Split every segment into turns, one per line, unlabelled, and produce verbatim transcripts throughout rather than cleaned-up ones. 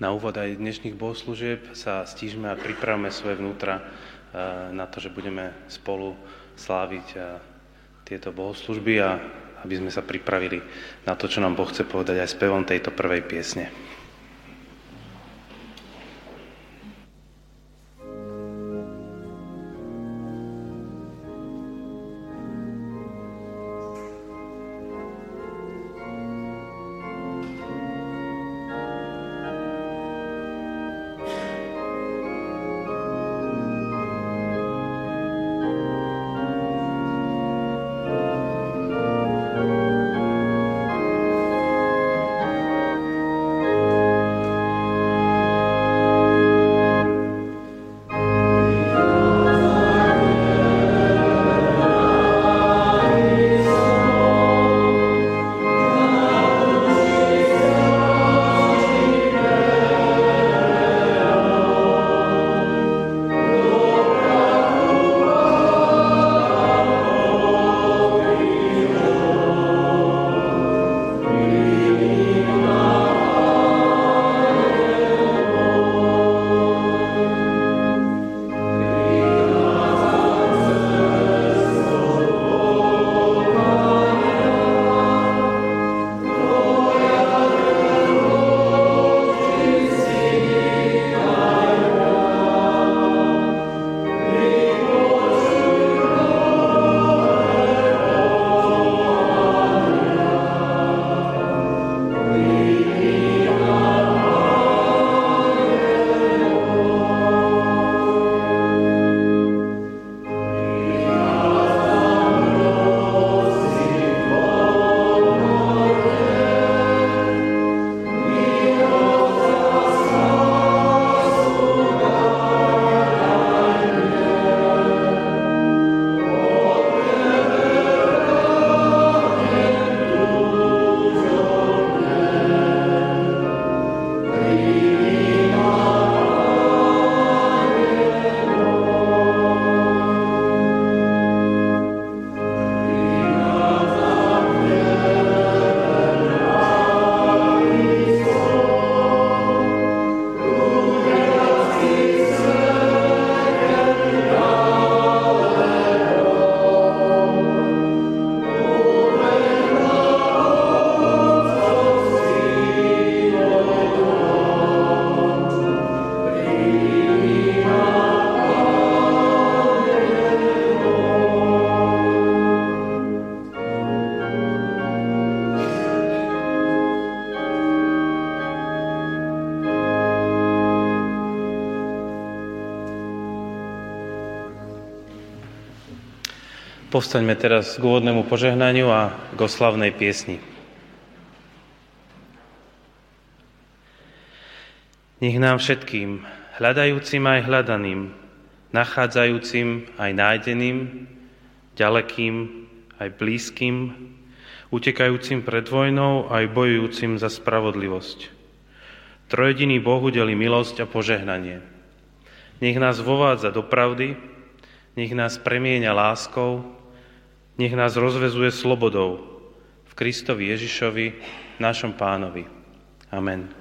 Na úvod aj dnešných bohoslúžieb sa stížme a pripravme svoje vnútra na to, že budeme spolu sláviť tieto bohoslúžby a aby sme sa pripravili na to, čo nám Boh chce povedať aj spevom tejto prvej piesne. Povstaňme teraz k úvodnému požehnaniu a k oslavnej piesni. Nech nám všetkým, hľadajúcim aj hľadaným, nachádzajúcim aj nájdeným, ďalekým aj blízkym, utekajúcim pred vojnou aj bojujúcim za spravodlivosť. Trojediný Boh udeli milosť a požehnanie. Nech nás vovádza do pravdy, nech nás premieňa láskou, nech nás rozvezuje slobodou v Kristovi Ježišovi, našom Pánovi. Amen.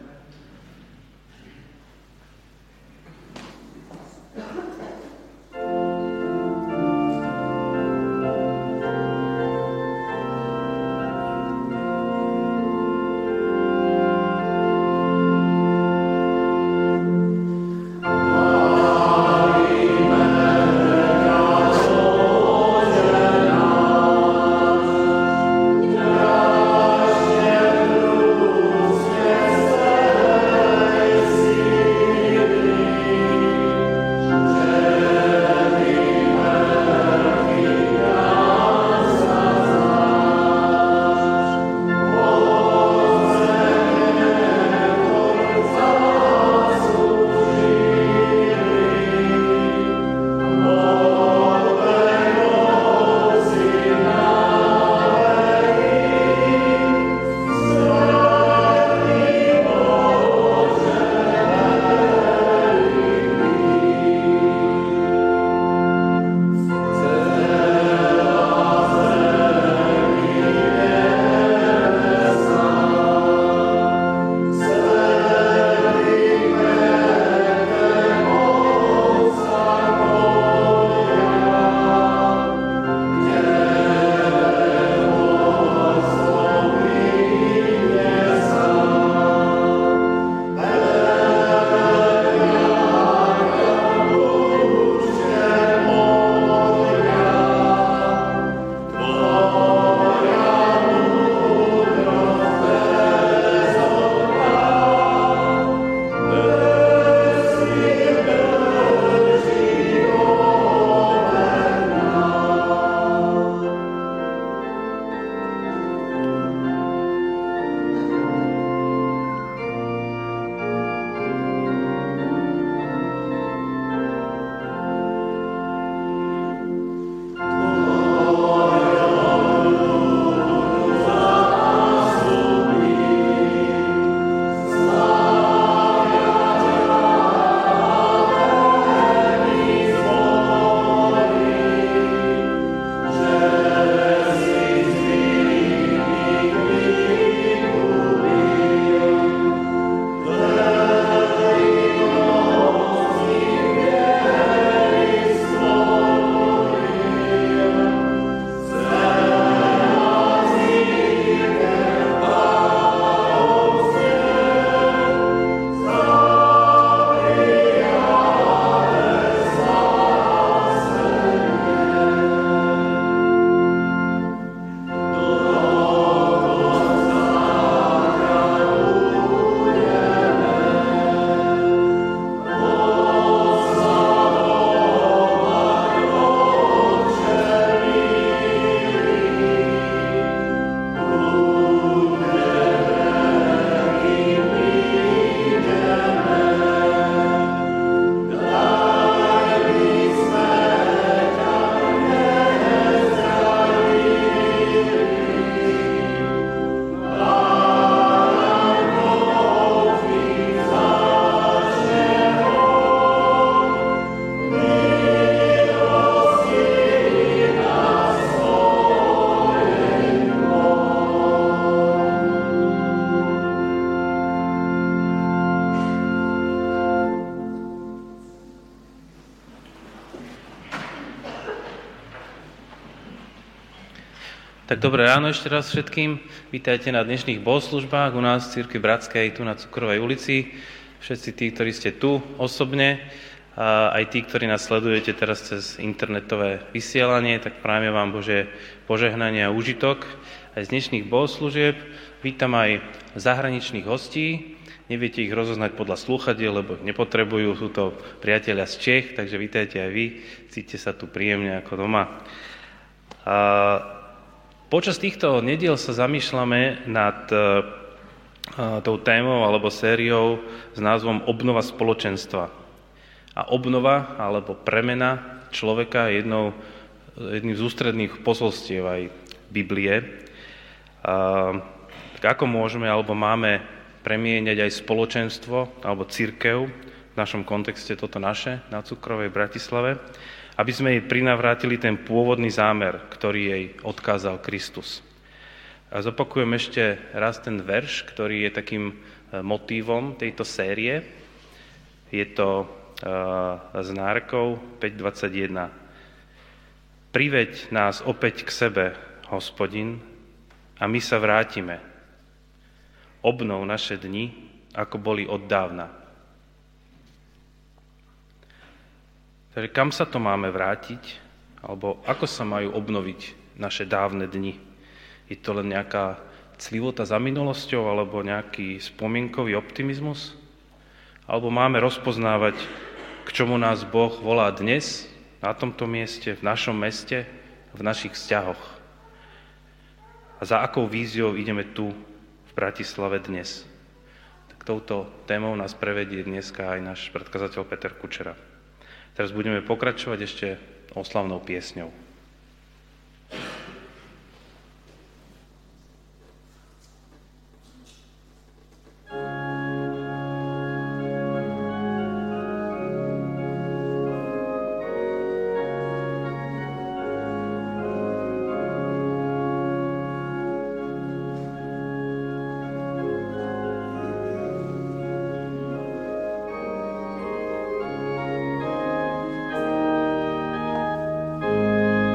Yeah.
Tak dobré ráno ešte raz všetkým. Vítajte na dnešných bohoslužbách u nás v Cirkvi Bratskej, tu na Cukrovej ulici. Všetci tí, ktorí ste tu osobne, a aj tí, ktorí nás sledujete teraz cez internetové vysielanie, tak prajeme vám Bože požehnanie a úžitok aj z dnešných bohoslúžieb. Vítam aj zahraničných hostí. Neviete ich rozoznať podľa slúchadiel, lebo ich nepotrebujú. Sú to priatelia z Čech, takže vítajte aj vy. Cítite sa tu príjemne ako doma. A počas týchto nediel sa zamýšľame nad uh, tou témou alebo sériou s názvom Obnova spoločenstva. A obnova alebo premena človeka je jednou, jedným z ústredných posolstiev aj Biblie. Uh, tak ako môžeme alebo máme premieňať aj spoločenstvo alebo cirkev, v našom kontexte toto naše, na Cukrovej Bratislave, aby sme jej prinavrátili ten pôvodný zámer, ktorý jej odkázal Kristus. A zopakujem ešte raz ten verš, ktorý je takým motívom tejto série. Je to z Nárkov päť dvadsaťjeden. Priveď nás opäť k sebe, Hospodin, a my sa vrátime. Obnov naše dni, ako boli od dávna. Takže kam sa to máme vrátiť? Alebo ako sa majú obnoviť naše dávne dni? Je to len nejaká clivota za minulosťou alebo nejaký spomienkový optimizmus? Alebo máme rozpoznávať, k čomu nás Boh volá dnes, na tomto mieste, v našom meste, v našich vzťahoch? A za akou víziou ideme tu v Bratislave dnes? Tak touto témou nás prevedie dneska aj náš predkazateľ Peter Kučera. Teraz budeme pokračovať ešte oslavnou piesňou.
Thank you.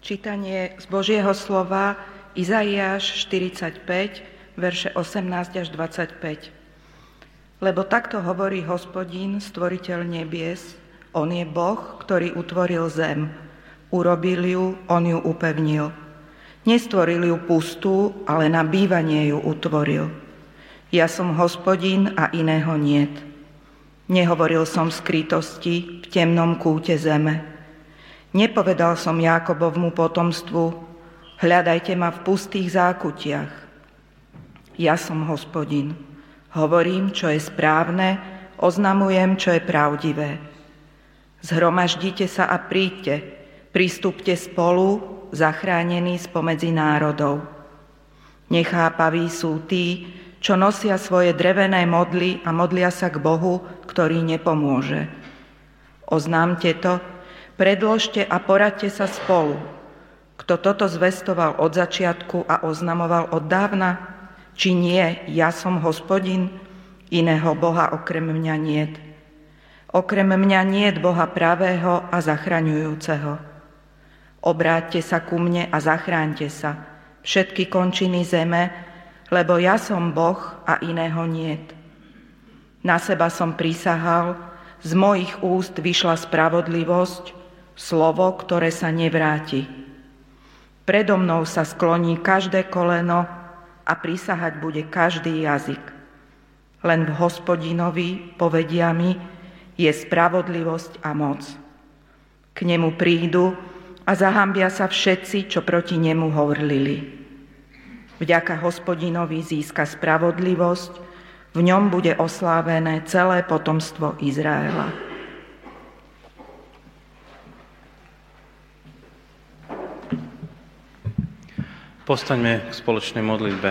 Čítanie z Božieho slova Izaiáš štyridsaťpäť, verše osemnásť až dvadsaťpäť. Lebo takto hovorí Hospodín, stvoriteľ nebies, on je Boh, ktorý utvoril zem. Urobil ju, on ju upevnil. Nestvoril ju pustú, ale na bývanie ju utvoril. Ja som Hospodín a iného niet. Nehovoril som v skrytosti v temnom kúte zeme. Nepovedal som Jákobovmu potomstvu, hľadajte ma v pustých zákutiach. Ja som Hospodin. Hovorím, čo je správne, oznamujem, čo je pravdivé. Zhromaždite sa a príďte, pristúpte spolu, zachránení spomedzi národov. Nechápaví sú tí, čo nosia svoje drevené modly a modlia sa k Bohu, ktorý nepomôže. Oznámte to, predložte a poradte sa spolu. Kto toto zvestoval od začiatku a oznamoval od dávna? Či nie, ja som Hospodin, iného Boha okrem mňa niet. Okrem mňa niet Boha pravého a zachraňujúceho. Obráťte sa ku mne a zachráňte sa, všetky končiny zeme, lebo ja som Boh a iného niet. Na seba som prisahal, z mojich úst vyšla spravodlivosť, slovo, ktoré sa nevráti. Predo mnou sa skloní každé koleno, a prisahať bude každý jazyk. Len v Hospodinovi, povedia mi, je spravodlivosť a moc. K nemu prídu a zahambia sa všetci, čo proti nemu hovorili. Vďaka Hospodinovi získa spravodlivosť, v ňom bude oslávené celé potomstvo Izraela.
Postaňme k spoločnej modlitbe.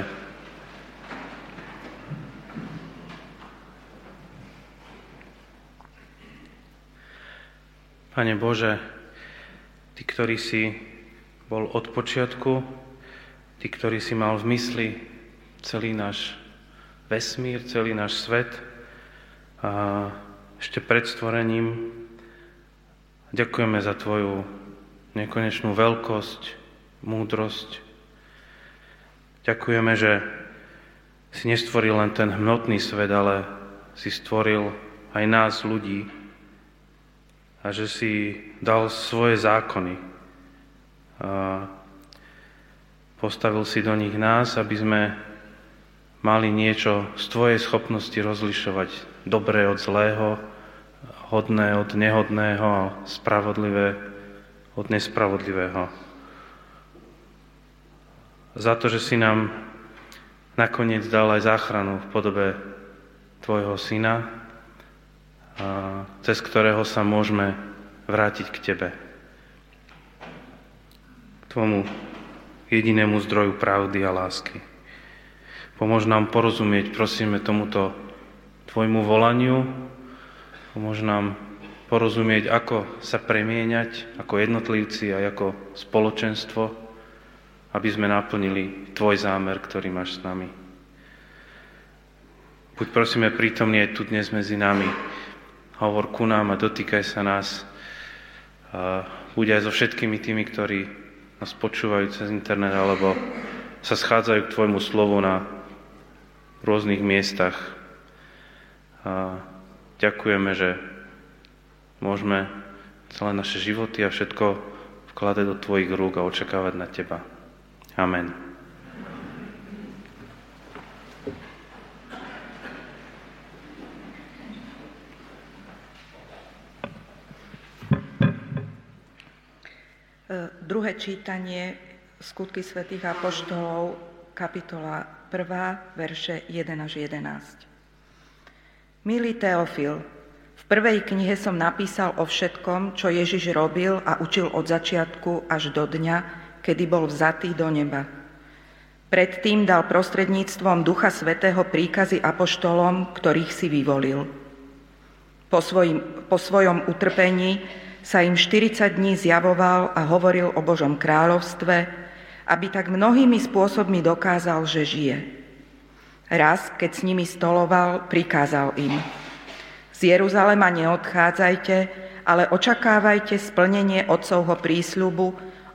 Pane Bože, Ty, ktorý si bol od počiatku, Ty, ktorý si mal v mysli celý náš vesmír, celý náš svet a ešte pred stvorením, ďakujeme za Tvoju nekonečnú veľkosť, múdrosť. Ďakujeme, že si nestvoril len ten hmotný svet, ale si stvoril aj nás, ľudí, a že si dal svoje zákony a postavil si do nich nás, aby sme mali niečo z Tvojej schopnosti rozlišovať dobré od zlého, hodné od nehodného a spravodlivé od nespravodlivého. Za to, že si nám nakoniec dal aj záchranu v podobe Tvojho Syna, cez ktorého sa môžeme vrátiť k Tebe. K Tvojmu jedinému zdroju pravdy a lásky. Pomôž nám porozumieť, prosíme, tomuto Tvojmu volaniu. Pomôž nám porozumieť, ako sa premieňať ako jednotlivci a ako spoločenstvo, aby sme naplnili Tvoj zámer, ktorý máš s nami. Buď prosíme prítomný aj tu dnes medzi nami. Hovor ku nám a dotýkaj sa nás. Buď aj so všetkými tými, ktorí nás počúvajú cez internet alebo sa schádzajú k Tvojmu slovu na rôznych miestach. Ďakujeme, že môžeme celé naše životy a všetko vkladať do Tvojich rúk a očakávať na Teba. Amen.
Druhé čítanie, Skutky svätých apoštolov, kapitola prvá, verše jeden až jedenásť. Milý Teofil, v prvej knihe som napísal o všetkom, čo Ježiš robil a učil od začiatku až do dňa, kedy bol vzatý do neba. Predtým dal prostredníctvom Ducha Svätého príkazy apoštolom, ktorých si vyvolil. Po, svojim, po svojom utrpení sa im štyridsať dní zjavoval a hovoril o Božom kráľovstve, aby tak mnohými spôsobmi dokázal, že žije. Raz, keď s nimi stoloval, prikázal im: Z Jeruzalema neodchádzajte, ale očakávajte splnenie Otcovho prísľubu,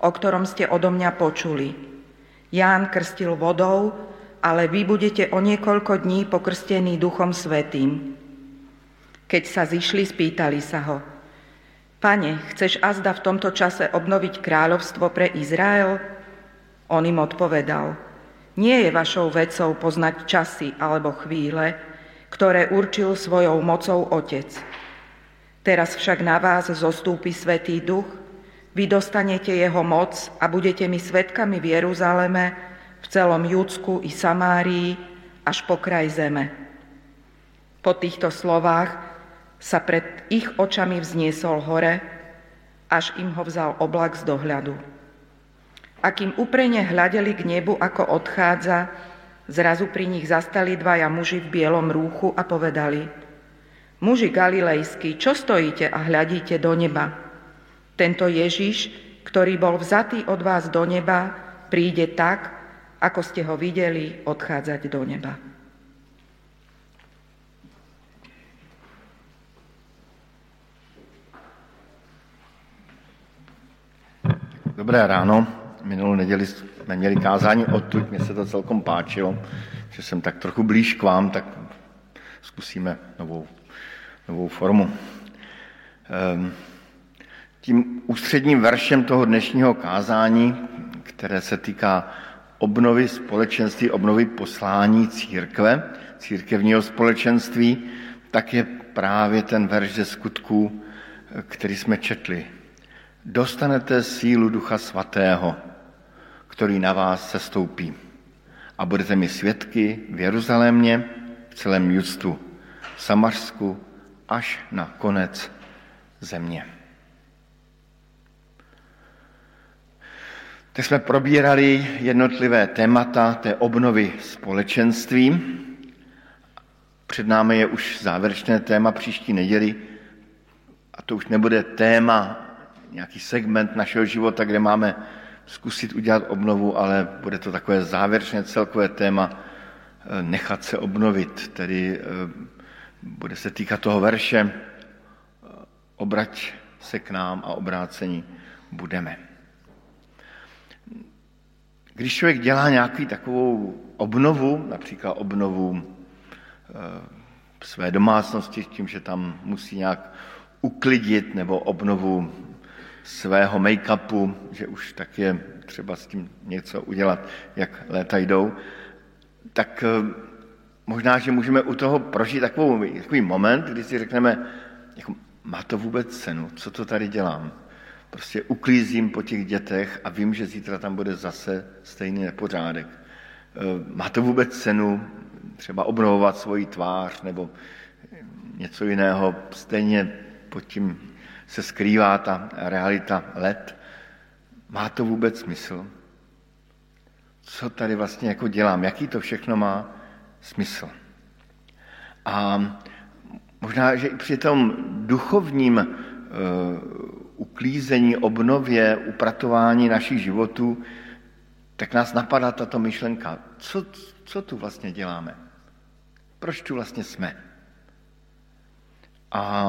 o ktorom ste odo mňa počuli. Ján krstil vodou, ale vy budete o niekoľko dní pokrstení Duchom Svätým. Keď sa zišli, spýtali sa ho: Pane, chceš azda v tomto čase obnoviť kráľovstvo pre Izrael? On im odpovedal: Nie je vašou vecou poznať časy alebo chvíle, ktoré určil svojou mocou Otec. Teraz však na vás zostúpi Svätý Duch, vy dostanete jeho moc a budete mi svedkami v Jeruzaleme, v celom Judsku i Samárii, až po kraj zeme. Po týchto slovách sa pred ich očami vzniesol hore, až im ho vzal oblak z dohľadu. A kým uprene hľadeli k nebu, ako odchádza, zrazu pri nich zastali dvaja muži v bielom rúchu a povedali: Muži galilejskí, čo stojíte a hľadíte do neba? Tento Ježiš, ktorý bol vzatý od vás do neba, príde tak, ako ste ho videli odchádzať do neba.
Dobré ráno. Minulou neděli jsme měli kázání odtud, mně se to celkom páčilo, že jsem tak trochu blíž k vám, tak zkusíme novou, novou formu. Tím ústředním veršem toho dnešního kázání, které se týká obnovy společenství, obnovy poslání církve, církevního společenství, tak je právě ten verš ze Skutků, který jsme četli. Dostanete sílu Ducha Svatého, který na vás sestoupí, a budete mi svědky v Jeruzalémě, v celém Judsku, v Samařsku, až na konec země. Tak jsme probírali jednotlivé témata té obnovy společenství. Před námi je už závěrečné téma příští neděli, a to už nebude téma, nějaký segment našeho života, kde máme zkusit udělat obnovu, ale bude to takové závěrečné celkové téma nechat se obnovit, tedy bude se týkat toho verše obrať se k nám a obrácení budeme. Když člověk dělá nějaký takovou obnovu, například obnovu své domácnosti tím, že tam musí nějak uklidit, nebo obnovu svého make-upu, že už tak je třeba s tím něco udělat, jak léta jdou, tak možná, že můžeme u toho prožít takovou, takový moment, kdy si řekneme, jako, má to vůbec cenu, co to tady dělám? Prostě uklízím po těch dětech a vím, že zítra tam bude zase stejný nepořádek. Má to vůbec cenu třeba obnovovat svoji tvář nebo něco jiného, stejně pod tím se skrývá ta realita let. Má to vůbec smysl? Co tady vlastně jako dělám? Jaký to všechno má smysl? A možná, že i při tom duchovním uh, uklízení, obnově, upratování našich životů, tak nás napadá tato myšlenka. Co, co tu vlastně děláme? Proč tu vlastně jsme? A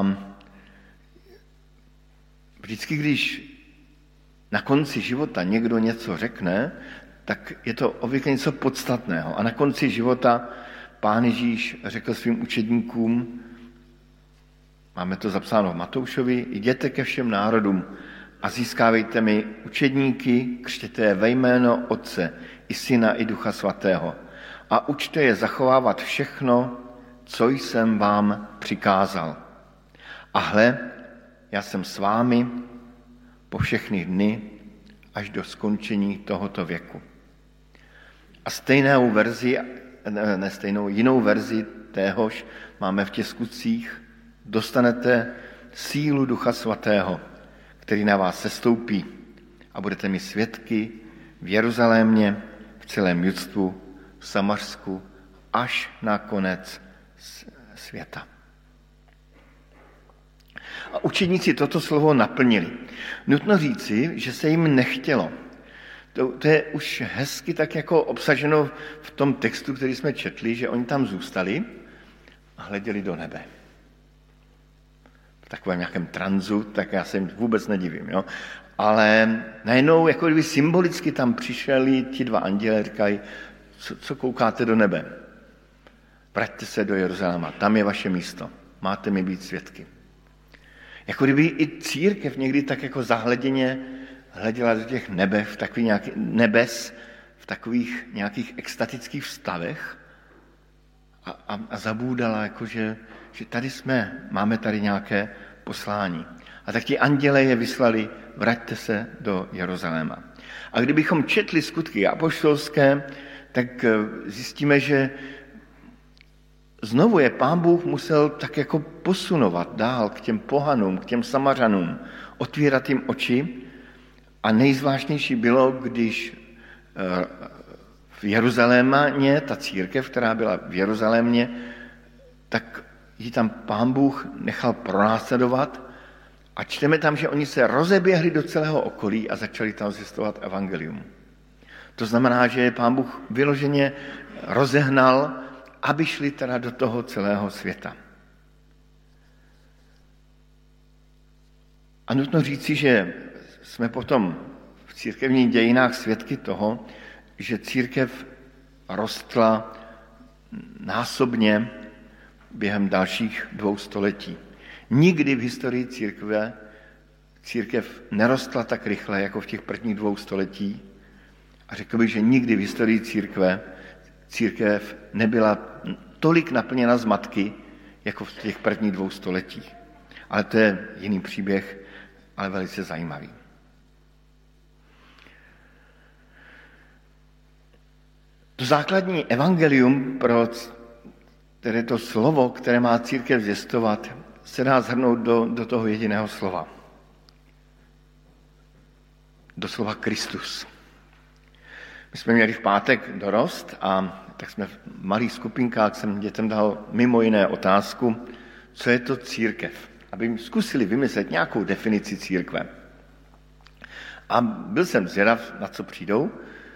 vždycky, když na konci života někdo něco řekne, tak je to obvykle něco podstatného. A na konci života Pán Ježíš řekl svým učedníkům, máme to zapsáno v Matoušovi, jděte ke všem národům a získávejte mi učedníky, křtěte je ve jméno Otce i Syna i Ducha Svatého a učte je zachovávat všechno, co jsem vám přikázal. A hle, já jsem s vámi po všechny dny až do skončení tohoto věku. A stejnou verzi, ne stejnou, jinou verzi téhož máme v těch Skutcích. Dostanete sílu Ducha Svatého, který na vás sestoupí a budete mi svědky v Jeruzalémě, v celém Judsku, v Samařsku, až na konec světa. A učedníci toto slovo naplnili. Nutno říci, že se jim nechtělo. To, to je už hezky tak jako obsaženo v tom textu, který jsme četli, že oni tam zůstali a hleděli do nebe. V takovém nějakém tranzu, tak já se jim vůbec nedivím. Jo? Ale najednou jako kdyby symbolicky tam přišli ti dva anděle, říkají, co, co koukáte do nebe? Vraťte se do Jeruzaléma, tam je vaše místo, máte mi být svědky. Jako kdyby i církev někdy tak jako zahleděně hleděla do těch nebe, v takových nějaký, nebes, v takových nějakých extatických stavech a, a, a zabůdala, jako že, že tady jsme, máme tady nějaké poslání. A tak ti anděle je vyslali, vraťte se do Jeruzaléma. A kdybychom četli skutky apoštolské, tak zjistíme, že znovu je Pán Bůh musel tak jako posunovat dál k těm pohanům, k těm Samařanům, otvírat jim oči. A nejzvláštnější bylo, když v Jeruzalémě, ta církev, která byla v Jeruzalémě, tak ji tam Pán Bůh nechal pronásledovat a čteme tam, že oni se rozeběhli do celého okolí a začali tam zvěstovat evangelium. To znamená, že Pán Bůh vyloženě rozehnal, aby šli teda do toho celého světa. A nutno říci, že jsme potom v církevních dějinách svědky toho, že církev rostla násobně během dalších dvou století. Nikdy v historii církve církev nerostla tak rychle, jako v těch prvních dvou století. A řekl bych, že nikdy v historii církve církev nebyla tolik naplněna zmatky, jako v těch prvních dvou stoletích. Ale to je jiný příběh, ale velice zajímavý. To základní evangelium, pro které to slovo, které má církev zvěstovat, se dá shrnout do, do toho jediného slova. Do slova Kristus. My jsme měli v pátek dorost a tak jsme v malých skupinkách, jsem dětem dal mimo jiné otázku, co je to církev, aby zkusili vymyslet nějakou definici církve. A byl jsem zvědav, na co přijdou.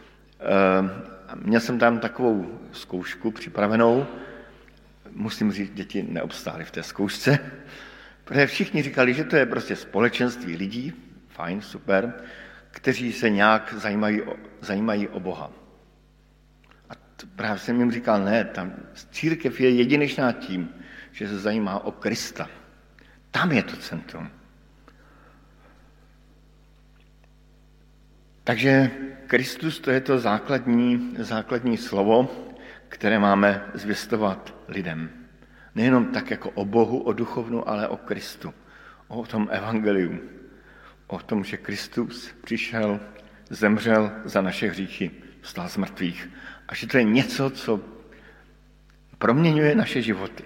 Měl jsem tam takovou zkoušku připravenou. Musím říct, děti neobstály v té zkoušce, protože všichni říkali, že to je prostě společenství lidí, fajn, super, kteří se nějak zajímají o, zajímají o Boha. A to právě jsem jim říkal, ne, tam církev je jedinečná tím, že se zajímá o Krista. Tam je to centrum. Takže Kristus, to je to základní, základní slovo, které máme zvěstovat lidem. Nejenom tak jako o Bohu, o duchovnu, ale o Kristu. O tom evangeliu. O tom, že Kristus přišel, zemřel za naše hříchy, vstal z mrtvých. A že to je něco, co proměňuje naše životy.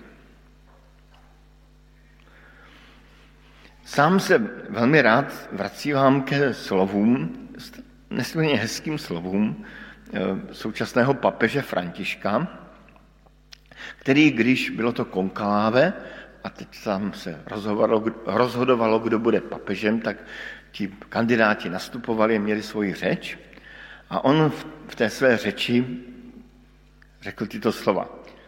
Sám se velmi rád vracím ke slovům, nesmírně hezkým slovům současného papeže Františka, který, když bylo to konklave, a teď tam se rozhodovalo, rozhodovalo, kdo bude papežem, tak ti kandidáti nastupovali, měli svoji řeč a on v té své řeči řekl tyto slova.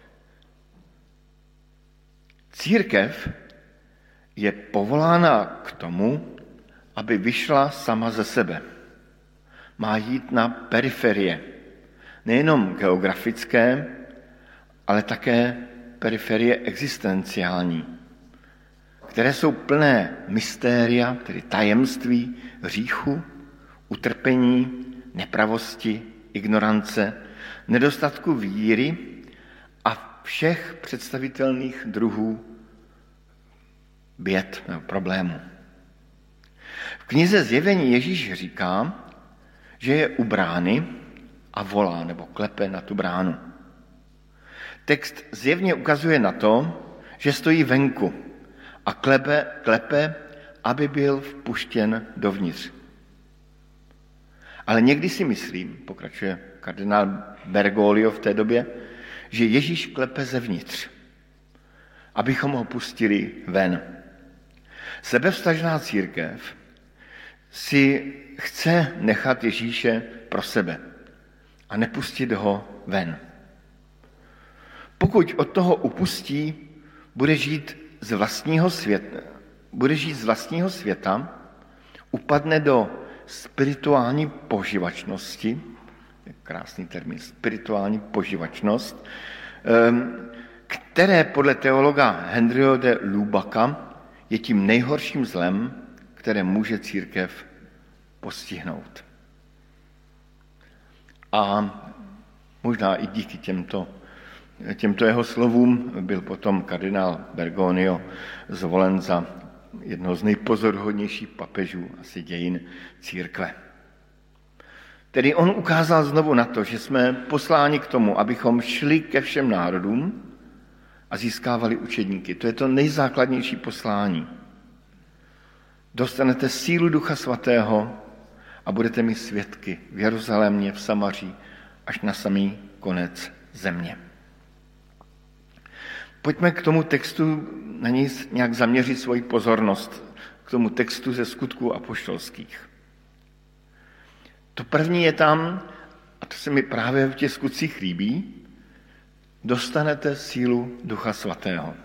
Církev je povolána k tomu, aby vyšla sama ze sebe. Má jít na periferie, nejenom geografické, ale také periferie existenciální, které jsou plné mystéria, tedy tajemství, hříchu, utrpení, nepravosti, ignorance, nedostatku víry a všech představitelných druhů běd nebo problémů. V knize Zjevení Ježíš říká, že je u brány a volá nebo klepe na tu bránu. Text zjevně ukazuje na to, že stojí venku a klepe, klepe, aby byl vpuštěn dovnitř. Ale někdy si myslím, pokračuje kardinál Bergoglio v té době, že Ježíš klepe zevnitř, abychom ho pustili ven. Sebevstažná církev si chce nechat Ježíše pro sebe a nepustit ho ven. Pokud od toho upustí, bude žít z vlastního světa, bude žít z vlastního světa, upadne do spirituální poživačnosti, krásný termín, spirituální poživačnost, které podle teologa Henryho de Lubaka je tím nejhorším zlem, které může církev postihnout. A možná i díky těmto, těmto jeho slovům byl potom kardinál Bergoglio zvolen za jednoho z nejpozoruhodnějších papežů asi dějin církve. Tedy on ukázal znovu na to, že jsme posláni k tomu, abychom šli ke všem národům a získávali učedníky. To je to nejzákladnější poslání. Dostanete sílu Ducha Svatého a budete mi svědky v Jeruzalémě, v Samaří, až na samý konec země. Pojďme k tomu textu, na něj nějak zaměřit svoji pozornost, k tomu textu ze Skutků apoštolských. To první je tam, a to se mi právě v těch skutcích líbí, dostanete sílu Ducha Svatého.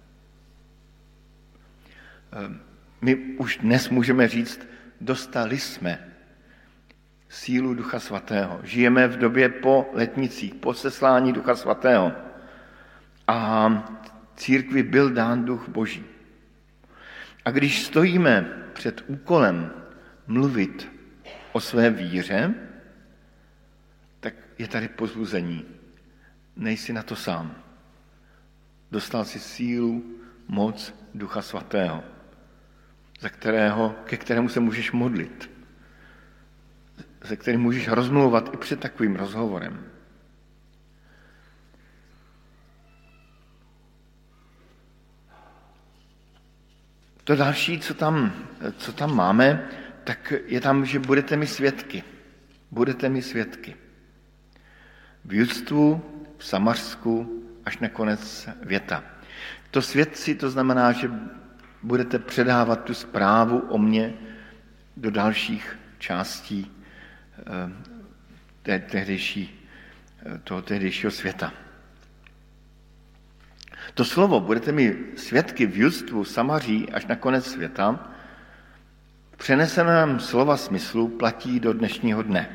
My už dnes můžeme říct, dostali jsme sílu Ducha Svatého. Žijeme v době po letnicích, po seslání Ducha Svatého. A církvi byl dán Duch Boží. A když stojíme před úkolem mluvit o své víře, tak je tady pozbuzení. Nejsi na to sám. Dostal si sílu, moc Ducha Svatého, za kterého, ke kterému se můžeš modlit, se kterým můžeš rozmlouvat i před takovým rozhovorem. To další, co tam, co tam máme, tak je tam, že budete mi svědky. Budete mi svědky. V Judstvu, v Samařsku, až na konec věta. To svědci, to znamená, že budete předávat tu zprávu o mně do dalších částí té, tehdejší, toho tehdejšího světa. To slovo, budete mi svědky v Judstvu, Samaří, až na konec světa, v přeneseném slova smyslu platí do dnešního dne.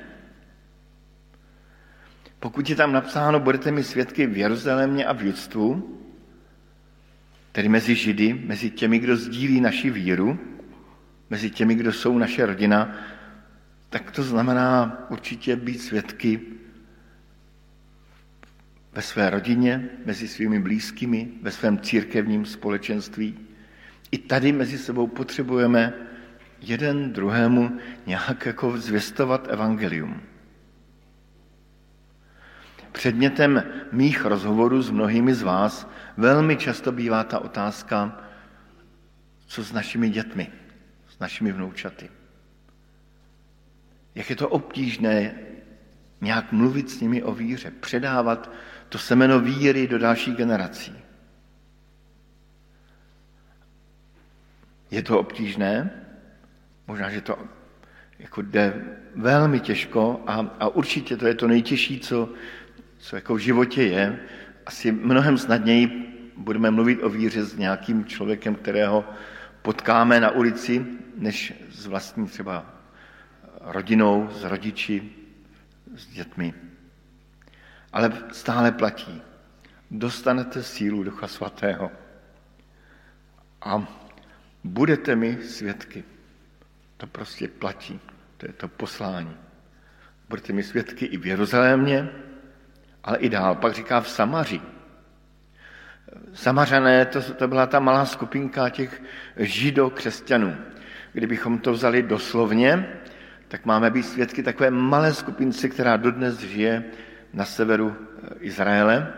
Pokud je tam napsáno, budete mi svědky v Jeruzalémě a v Judstvu, tedy mezi Židy, mezi těmi, kdo sdílí naši víru, mezi těmi, kdo jsou naše rodina, tak to znamená určitě být svědky ve své rodině, mezi svými blízkými, ve svém církevním společenství. I tady mezi sebou potřebujeme jeden druhému nějak jako zvěstovat evangelium. Předmětem mých rozhovorů s mnohými z vás velmi často bývá ta otázka, co s našimi dětmi, s našimi vnoučaty. Jak je to obtížné nějak mluvit s nimi o víře, předávat to semeno víry do dalších generací. Je to obtížné, možná, že to jako jde velmi těžko a, a určitě to je to nejtěžší, co, co jako v životě je. Asi mnohem snadněji budeme mluvit o víře s nějakým člověkem, kterého potkáme na ulici, než s vlastní třeba rodinou, s rodiči, s dětmi. Ale stále platí. Dostanete sílu Ducha Svatého a budete mi svědky. To prostě platí. To je to poslání. Budete mi svědky i v Jeruzalémě, ale i dál. Pak říká v Samaří. Samařané, to, to byla ta malá skupinka těch židokřesťanů. Kdybychom to vzali doslovně, tak máme být svědky takové malé skupince, která dodnes žije na severu Izraele,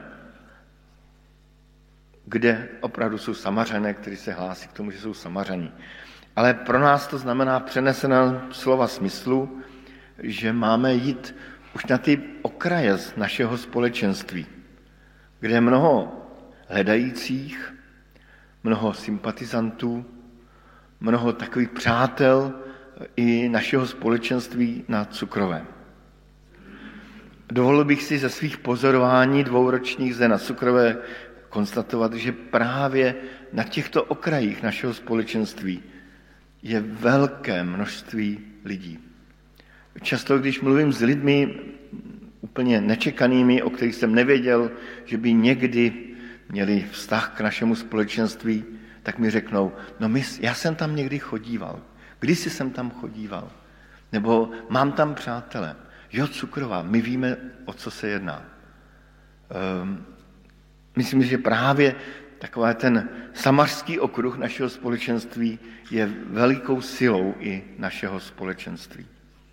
kde opravdu jsou Samařané, kteří se hlásí k tomu, že jsou Samařaní. Ale pro nás to znamená přenesená slova smyslu, že máme jít už na ty okraje z našeho společenství, kde je mnoho hledajících, mnoho sympatizantů, mnoho takových přátel i našeho společenství na Cukrovém. Dovolil bych si ze svých pozorování dvouročních zde na Cukrové konstatovat, že právě na těchto okrajích našeho společenství je velké množství lidí. Často, když mluvím s lidmi úplně nečekanými, o kterých jsem nevěděl, že by někdy měli vztah k našemu společenství, tak mi řeknou, no my, já jsem tam někdy chodíval, kdysi jsem tam chodíval, nebo mám tam přátele. Jo, Cukrová, my víme, o co se jedná. Um, myslím, že právě takový ten samařský okruh našeho společenství je velikou silou i našeho společenství.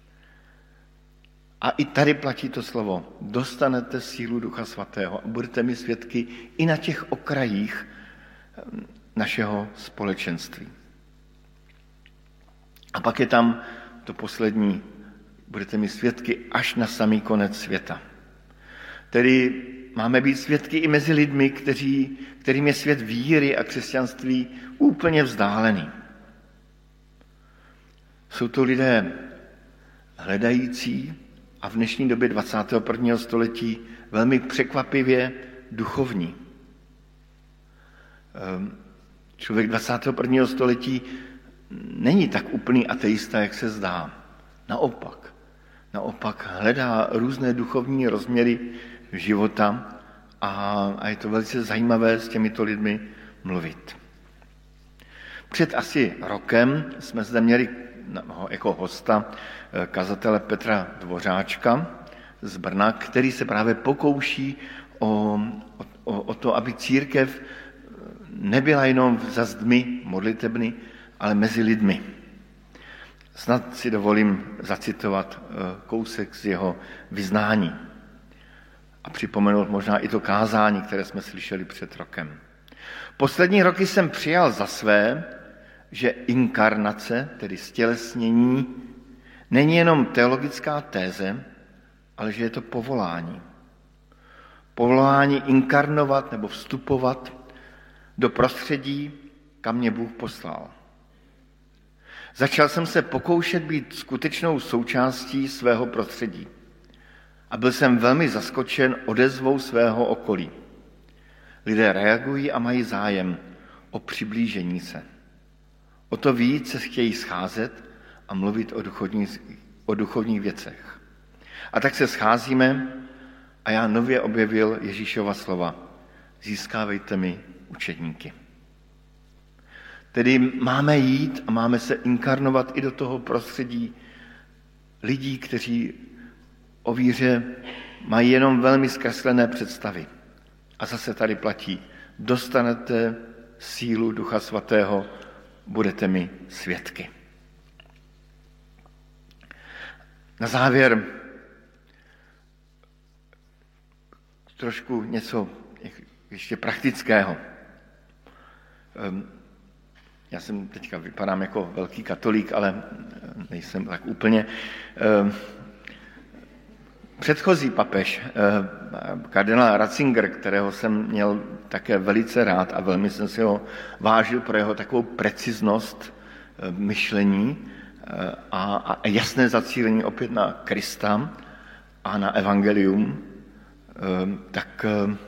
A i tady platí to slovo, dostanete sílu Ducha Svatého a budete mi svědky i na těch okrajích našeho společenství. A pak je tam to poslední, budete mi svědky až na samý konec světa. Tedy máme být svědky i mezi lidmi, kteří, kterým je svět víry a křesťanství úplně vzdálený. Jsou to lidé hledající a v dnešní době dvacátého prvního století velmi překvapivě duchovní. Člověk dvacátého prvního století není tak úplný ateista, jak se zdá. Naopak. Naopak hledá různé duchovní rozměry života a, a je to velice zajímavé s těmito lidmi mluvit. Před asi rokem jsme zde měli jako hosta kazatele Petra Dvořáčka z Brna, který se právě pokouší o, o, o to, aby církev nebyla jenom za zdmi modlitebny, ale mezi lidmi. Snad si dovolím zacitovat kousek z jeho vyznání a připomenout možná i to kázání, které jsme slyšeli před rokem. Poslední roky jsem přijal za své, že inkarnace, tedy stělesnění, není jenom teologická téze, ale že je to povolání. Povolání inkarnovat nebo vstupovat do prostředí, kam mě Bůh poslal. Začal jsem se pokoušet být skutečnou součástí svého prostředí a byl jsem velmi zaskočen odezvou svého okolí. Lidé reagují a mají zájem o přiblížení se. O to víc se chtějí scházet a mluvit o duchovních, o duchovních věcech. A tak se scházíme a já nově objevil Ježíšova slova. Získávejte mi učedníky. Tedy máme jít a máme se inkarnovat i do toho prostředí lidí, kteří o víře mají jenom velmi zkreslené představy. A zase tady platí, dostanete sílu Ducha Svatého, budete mi svědky. Na závěr trošku něco ještě praktického. Já jsem teďka vypadám jako velký katolík, ale nejsem tak úplně. Předchozí papež, kardinál Ratzinger, kterého jsem měl také velice rád a velmi jsem si ho vážil pro jeho takovou preciznost myšlení a, a jasné zacílení opět na Krista a na evangelium, tak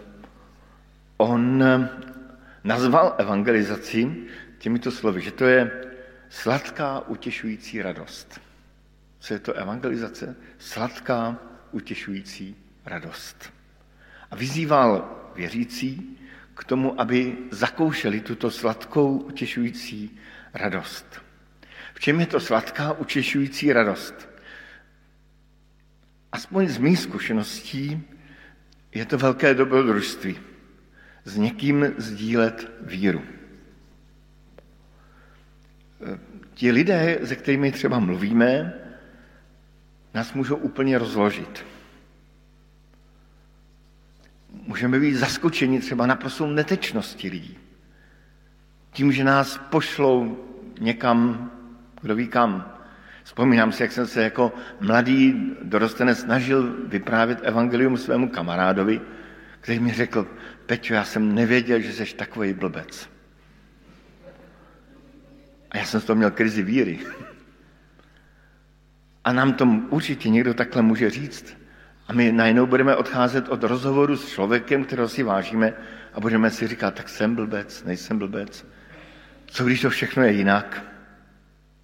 on nazval evangelizaci těmito slovy, že to je sladká, utěšující radost. Co je to evangelizace? Sladká, utěšující radost. A vyzýval věřící k tomu, aby zakoušeli tuto sladkou, utěšující radost. V čem je to sladká, utěšující radost? Aspoň z mých zkušeností je to velké dobrodružství. S někým sdílet víru. Ti lidé, se kterými třeba mluvíme, nás můžou úplně rozložit. Můžeme být zaskočeni třeba naprostou netečností lidí. Tím, že nás pošlou někam, kdo ví kam. Vzpomínám si, jak jsem se jako mladý dorostenec snažil vyprávět evangelium svému kamarádovi, který mi řekl, Peťo, já jsem nevěděl, že jsi takovej blbec. A já jsem z toho měl krizi víry. A nám to určitě někdo takhle může říct. A my najednou budeme odcházet od rozhovoru s člověkem, kterého si vážíme a budeme si říkat, tak jsem blbec, nejsem blbec. Co když to všechno je jinak?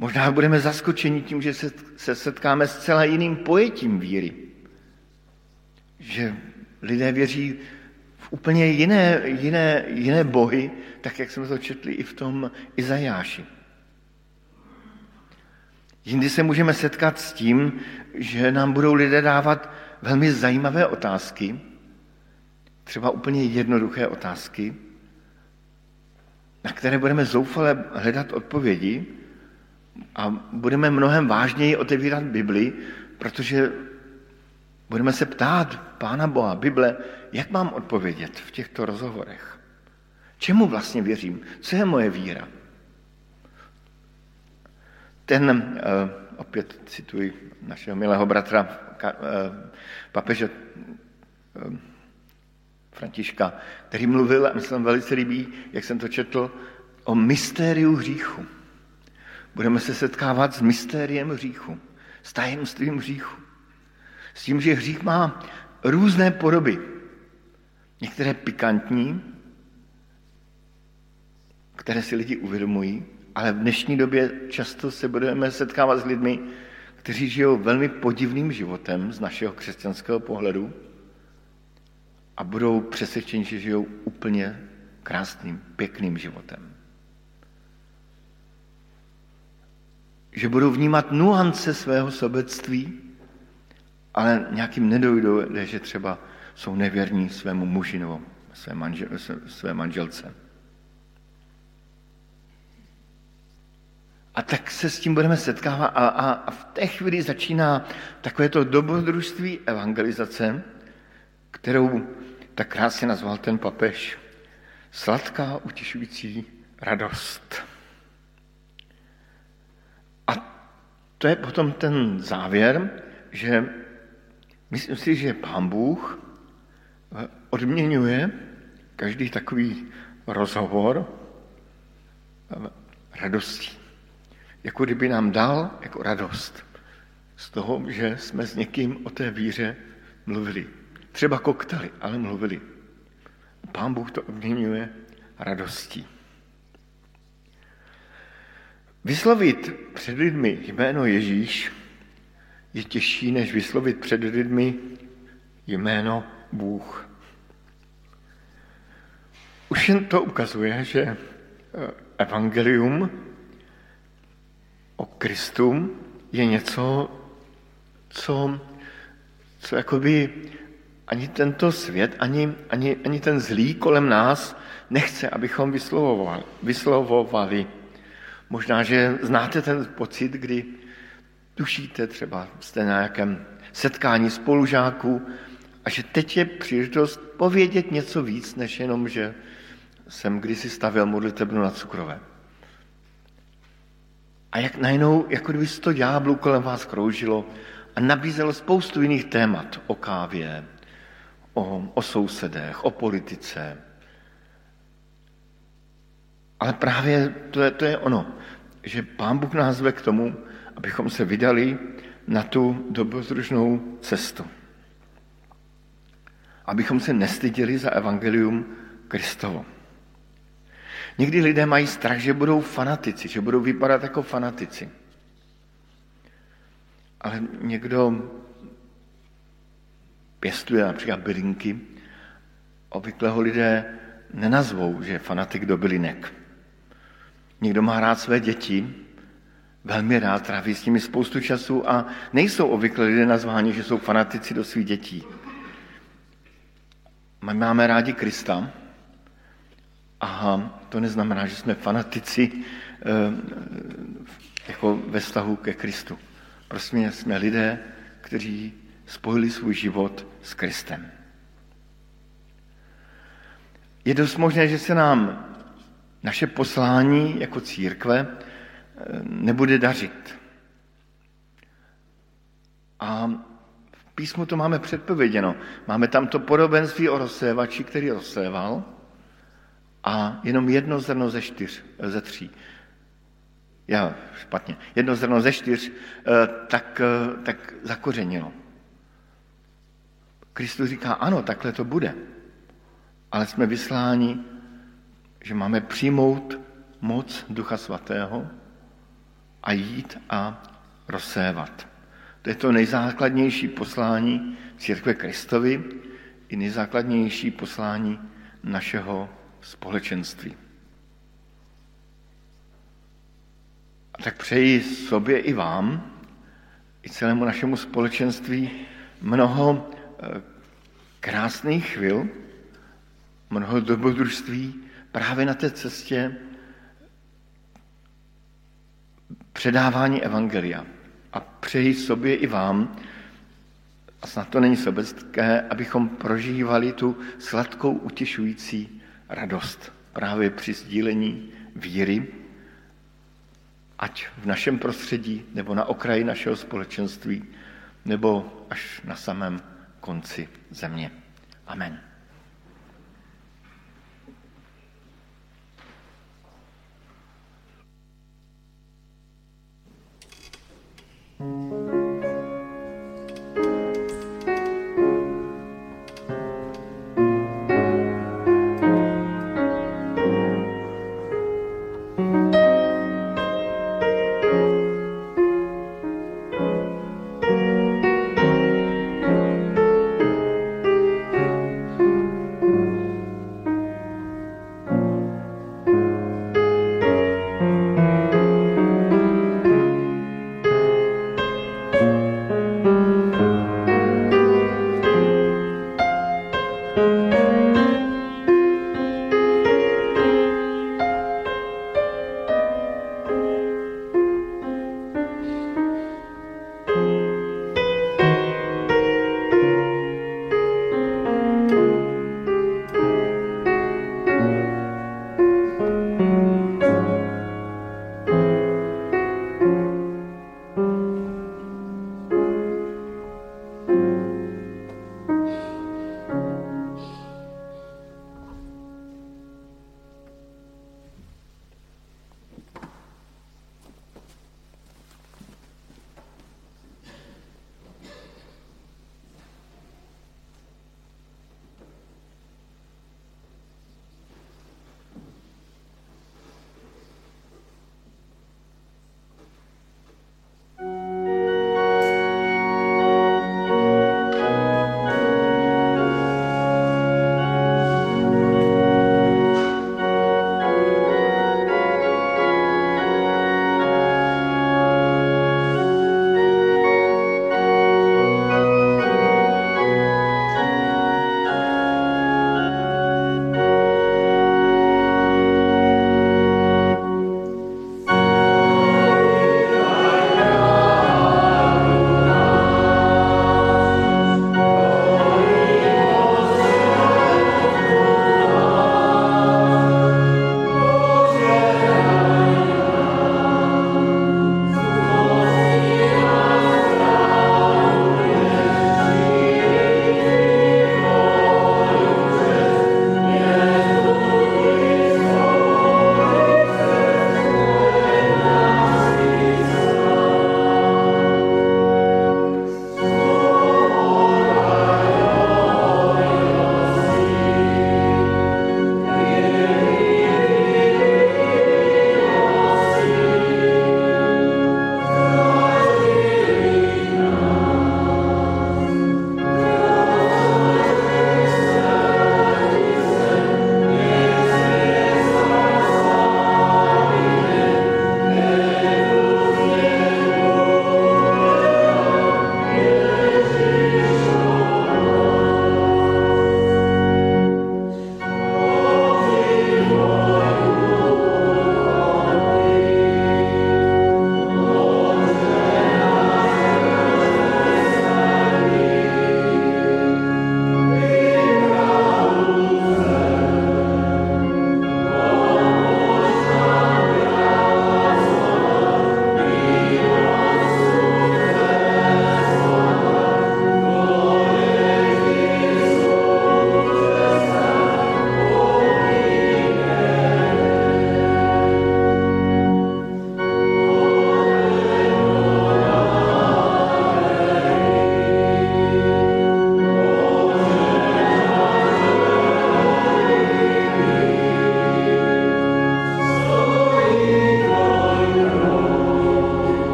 Možná budeme zaskočeni tím, že se setkáme s celá jiným pojetím víry. Že lidé věří v úplně jiné, jiné, jiné bohy, tak jak jsme to četli i v tom Izajáši. Jindy se můžeme setkat s tím, že nám budou lidé dávat velmi zajímavé otázky, třeba úplně jednoduché otázky, na které budeme zoufale hledat odpovědi a budeme mnohem vážněji otevírat Bibli, protože budeme se ptát Pána Boha, Bible, jak mám odpovědět v těchto rozhovorech? Čemu vlastně věřím? Co je moje víra? Ten, opět cituji našeho milého bratra papeže Františka, který mluvil, a myslím velice líbí, jak jsem to četl, o mystériu hříchu. Budeme se setkávat s mystériem hříchu, s tajemstvím hříchu. S tím, že hřích má různé podoby. Některé pikantní, které si lidi uvědomují, ale v dnešní době často se budeme setkávat s lidmi, kteří žijou velmi podivným životem z našeho křesťanského pohledu a budou přesvědčeni, že žijou úplně krásným, pěkným životem. Že budou vnímat nuance svého sobectví, ale nějakým nedojde, že třeba jsou nevěrní svému muži nebo své, manžel, své manželce. A tak se s tím budeme setkávat a, a, a v té chvíli začíná takovéto dobrodružství evangelizace, kterou tak krásně nazval ten papež. Sladká, utěšující radost. A to je potom ten závěr, že myslím si, že Pán Bůh odměňuje každý takový rozhovor radostí. Jako kdyby nám dal jako radost z toho, že jsme s někým o té víře mluvili. Třeba koktali, ale mluvili. Pán Bůh to odměňuje radostí. Vyslovit před lidmi jméno Ježíš je těžší, než vyslovit před lidmi jméno Bůh. Už jen to ukazuje, že evangelium o Kristu je něco, co, co jakoby ani tento svět, ani, ani, ani ten zlý kolem nás nechce, abychom vyslovovali. vyslovovali. Možná, že znáte ten pocit, kdy tušíte, třeba jste na nějakém setkání spolužáků a že teď je příležitost povědět něco víc, než jenom, že jsem kdysi stavěl modlitebnu na Cukrové. A jak najednou, jako kdyby sto ďáblů kolem vás kroužilo a nabízelo spoustu jiných témat o kávě, o, o sousedech, o politice. Ale právě to je, to je ono, že Pán Bůh nás zve k tomu, abychom se vydali na tu dobrodružnou cestu. Abychom se nestyděli za evangelium Kristovo. Někdy lidé mají strach, že budou fanatici, že budou vypadat jako fanatici. Ale někdo pěstuje například bylinky, obvykle ho lidé nenazvou, že je fanatik do bylinek. Někdo má rád své děti, velmi rád, tráví s nimi spoustu času a nejsou obvykle lidé nazváni, že jsou fanatici do svých dětí. My máme rádi Krista a to neznamená, že jsme fanatici jako ve vztahu ke Kristu. Prostě jsme lidé, kteří spojili svůj život s Kristem. Je dost možné, že se nám naše poslání jako církve nebude dařit. A v písmu to máme předpověděno. Máme tam to podobenství o rozsévači, který rozséval a jenom jedno zrno ze čtyř, ze tří. Já, špatně. Jedno zrno ze čtyř tak, tak zakořenilo. Kristus říká, ano, takhle to bude. Ale jsme vysláni, že máme přijmout moc Ducha Svatého a jít a rozsévat. To je to nejzákladnější poslání církve Kristovy i nejzákladnější poslání našeho společenství. A tak přeji sobě i vám, i celému našemu společenství mnoho krásných chvil, mnoho dobrodružství právě na té cestě předávání evangelia. A přeji sobě i vám, a snad to není sobecké, abychom prožívali tu sladkou, utěšující radost právě při sdílení víry, ať v našem prostředí, nebo na okraji našeho společenství, nebo až na samém konci země. Amen.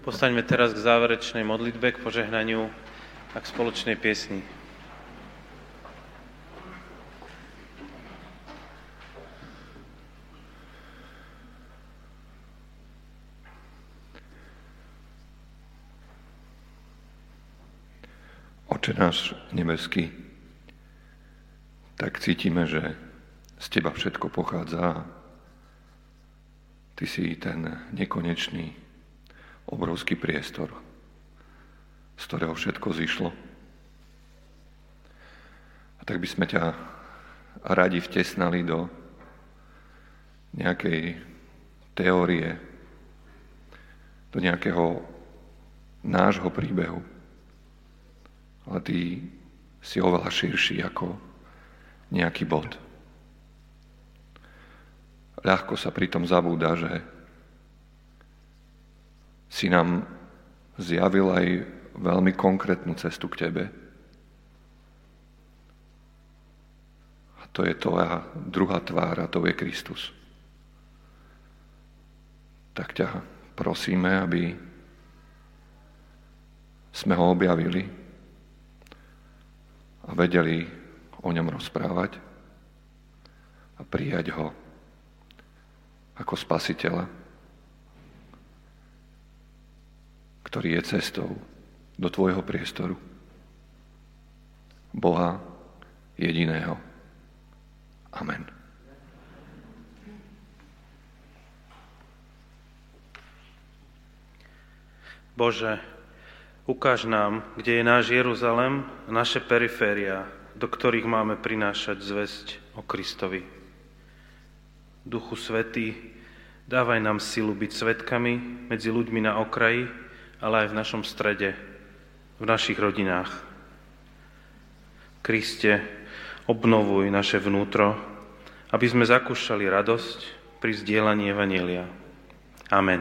Postaňme teraz k záverečnej modlitbe, k požehnaniu a k spoločnej piesni.
Oče náš nebeský, tak cítime, že z Teba všetko pochádza. Ty si ten nekonečný, obrovský priestor, z ktorého všetko zišlo. A tak by sme ťa radi vtesnali do nejakej teórie, do nejakého nášho príbehu. Ale ty si oveľa širší ako nejaký bod. Ľahko sa pritom zabúda, že si nám zjavil aj veľmi konkrétnu cestu k Tebe. A to je tvoja druhá tvár a to je Kristus. Tak ťa prosíme, aby sme ho objavili a vedeli o ňom rozprávať a prijať ho ako spasiteľa, ktorý je cestou do tvojho priestoru. Boha jediného. Amen.
Bože, ukáž nám, kde je náš Jeruzalem a naše periféria, do ktorých máme prinášať zvesť o Kristovi. Duchu Svätý, dávaj nám silu byť svedkami medzi ľuďmi na okraji, ale aj v našom strede, v našich rodinách. Kriste, obnovuj naše vnútro, aby sme zakúšali radosť pri zdieľaní evanjelia. Amen.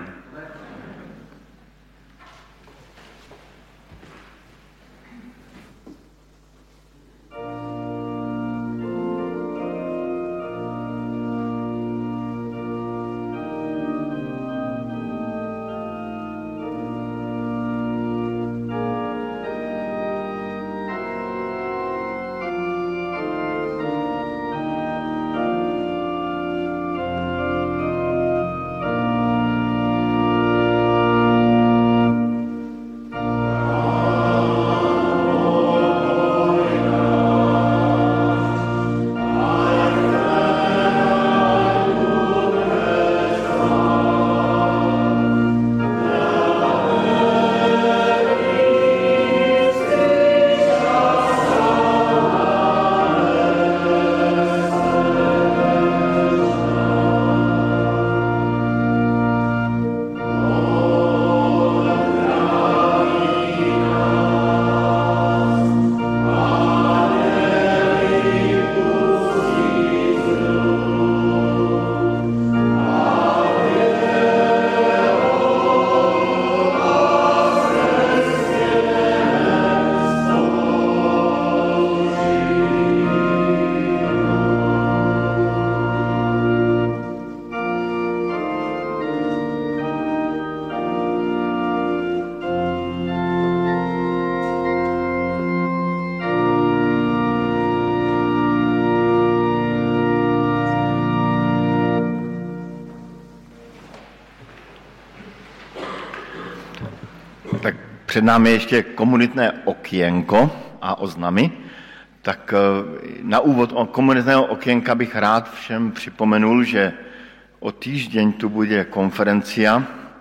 Před námi ještě komunitné okienko a oznamy. Tak na úvod o komunitného okienka bych rád všem připomenul, že o týždeň tu bude konferencia,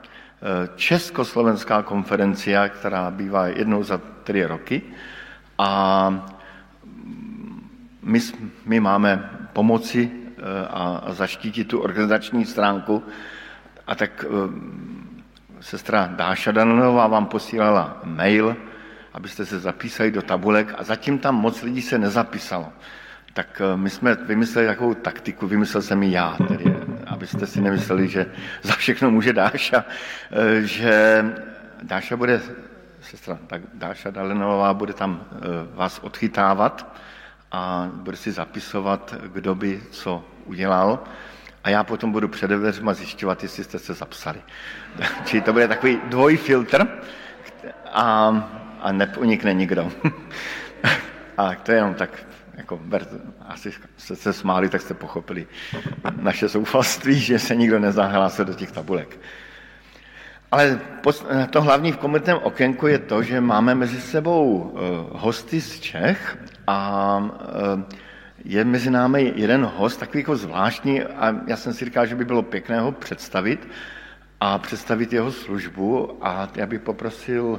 československá konferencia, která bývá jednou za tři roky. A my, my máme pomoci a zaštítit tu organizační stránku. A tak sestra Dáša Dananová vám posílala mail, abyste se zapísali do tabulek a zatím tam moc lidí se nezapísalo. Tak my jsme vymysleli takovou taktiku, vymyslel jsem ji já, tedy, abyste si nemysleli, že za všechno může Dáša, že Dáša bude, sestra Dáša Dananová bude tam vás odchytávat a bude si zapisovat, kdo by co udělal. a já potom budu před dveřma zjišťovat, jestli jste se zapsali. Čili to bude takový dvojfiltr a, a neunikne nikdo. A to je jenom tak, jako, asi jste se smáli, tak jste pochopili naše zoufalství, že se nikdo nezahlásil do těch tabulek. Ale to hlavní v komunitním okénku je to, že máme mezi sebou hosty z Čech a je mezi námi jeden host, takový jako zvláštní, a já jsem si říkal, že by bylo pěkné ho představit a představit jeho službu, a já bych poprosil,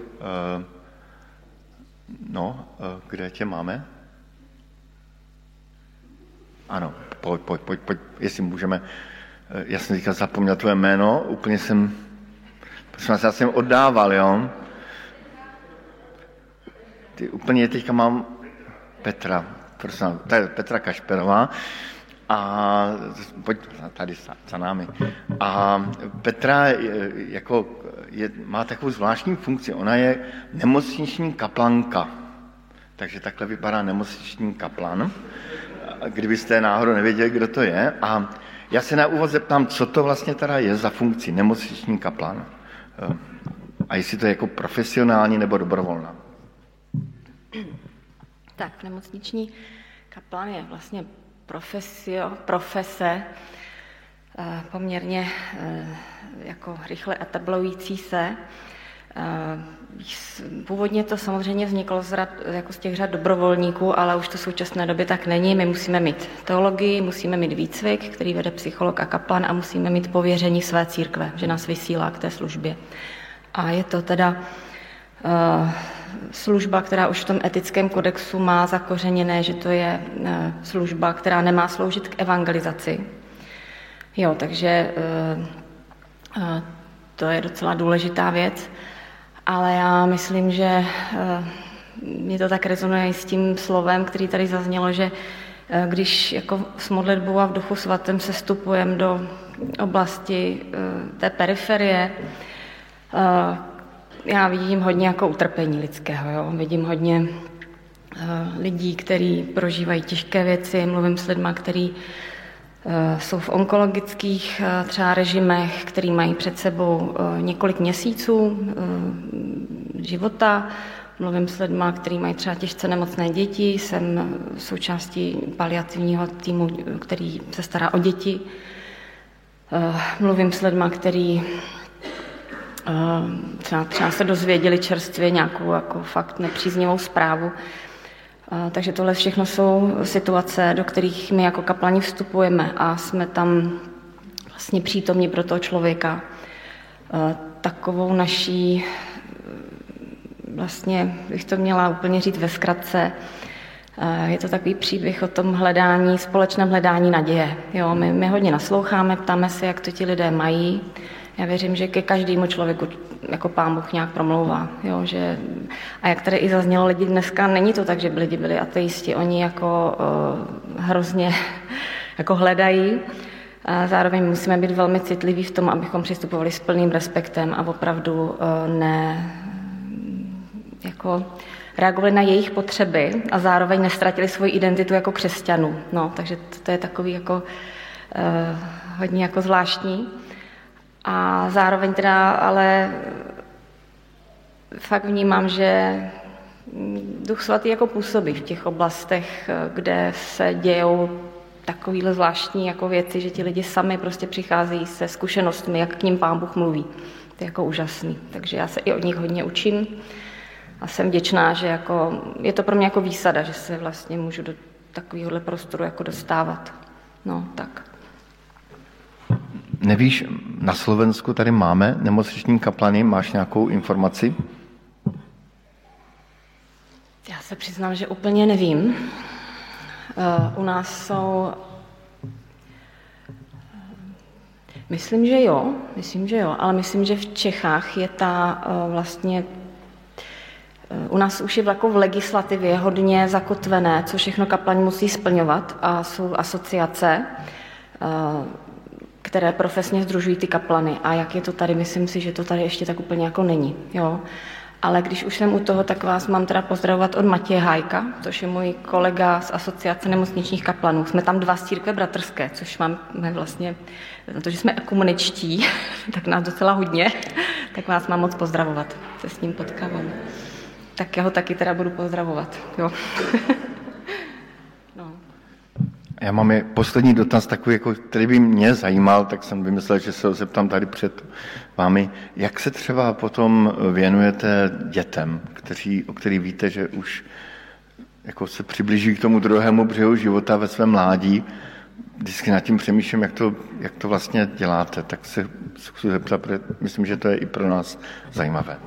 no, kde tě máme? Ano, pojď, pojď, pojď, pojď, jestli můžeme, já jsem říkal, zapomněl tvoje jméno, úplně jsem, prosím vás, já jsem oddával, jo? Ty úplně teďka mám Petra, prosím, to je Petra Kašperová, a pojď tady za námi. A Petra jako je, má takovou zvláštní funkci, ona je nemocniční kaplanka, takže takhle vypadá nemocniční kaplan, kdybyste náhodou nevěděli, kdo to je. A já se na úvod zeptám, co to vlastně teda je za funkci nemocniční kaplan. A jestli to je jako profesionální nebo dobrovolná.
Tak, nemocniční kaplan je vlastně profesio, profese poměrně jako rychle etablující se. Původně to samozřejmě vzniklo z, rad, jako z těch řad dobrovolníků, ale už to v současné době tak není. My musíme mít teologii, musíme mít výcvik, který vede psycholog a kaplan, a musíme mít pověření své církve, že nás vysílá k té službě. A je to teda uh, služba, která už v tom etickém kodexu má zakořeněné, že to je uh, služba, která nemá sloužit k evangelizaci. Jo, takže uh, uh, to je docela důležitá věc. Ale já myslím, že mě to tak rezonuje s tím slovem, který tady zaznělo, že když jako s modlitbou a v Duchu svatém se vstupujeme do oblasti té periferie, já vidím hodně jako utrpení lidského. Jo? Vidím hodně lidí, kteří prožívají těžké věci, mluvím s lidma, kteří jsou v onkologických třeba režimech, který mají před sebou několik měsíců života. Mluvím s lidma, kteří mají třeba těžce nemocné děti. Jsem součástí paliativního týmu, který se stará o děti. Mluvím s lidma, kteří třeba, třeba se dozvěděli čerstvě nějakou jako fakt nepříznivou zprávu. Takže tohle všechno jsou situace, do kterých my jako kaplani vstupujeme a jsme tam vlastně přítomní pro toho člověka. Takovou naší, vlastně bych to měla úplně říct ve zkratce, je to takový příběh o tom hledání, společném hledání naděje. Jo, my, my hodně nasloucháme, ptáme se, jak to ti lidé mají. Já věřím, že ke každému člověku jako Pán Bůh nějak promlouvá. Jo, že, a jak tady i zaznělo, lidi dneska, není to tak, že by lidi byli ateisti, oni jako uh, hrozně jako hledají. A zároveň musíme být velmi citliví v tom, abychom přistupovali s plným respektem a opravdu uh, ne jako reagovali na jejich potřeby a zároveň nestratili svoji identitu jako křesťanů. No, takže to, to je takový jako uh, hodně jako zvláštní. A zároveň teda ale fakt vnímám, že Duch Svatý jako působí v těch oblastech, kde se dějou takovýhle zvláštní jako věci, že ti lidi sami prostě přicházejí se zkušenostmi, jak k ním Pán Bůh mluví. To je jako úžasný. Takže já se i od nich hodně učím a jsem vděčná, že jako, je to pro mě jako výsada, že se vlastně můžu do takovéhohle prostoru jako dostávat. No, tak.
Nevíš, na Slovensku tady máme nemocniční kaplany, máš nějakou informaci?
Já se přiznám, že úplně nevím. Uh, u nás jsou... Myslím, že jo, myslím, že jo, ale myslím, že v Čechách je ta uh, vlastně... Uh, u nás už je jako v legislativě hodně zakotvené, co všechno kaplani musí splňovat, a jsou asociace, uh, které profesně sdružují ty kaplany. A jak je to tady, myslím si, že to tady ještě tak úplně jako není. Jo? Ale když už jsem u toho, tak vás mám teda pozdravovat od Matěje Hájka, což je můj kolega z Asociace nemocničních kaplanů. Jsme tam dva z církve bratrské, což máme vlastně, protože jsme ekumeničtí, tak nás docela hodně, tak vás mám moc pozdravovat. Se s ním potkávám. Tak já ho taky teda budu pozdravovat. Jo. No.
Já mám je poslední dotaz takový, jako, který by mě zajímal, tak jsem vymyslel, že se ho zeptám tady před vámi. Jak se třeba potom věnujete dětem, kteří, o kterých víte, že už jako se přiblíží k tomu druhému břehu života ve svém mládí? Vždycky nad tím přemýšlím, jak to, jak to vlastně děláte, tak se chci zeptat, protože myslím, že to je i pro nás zajímavé.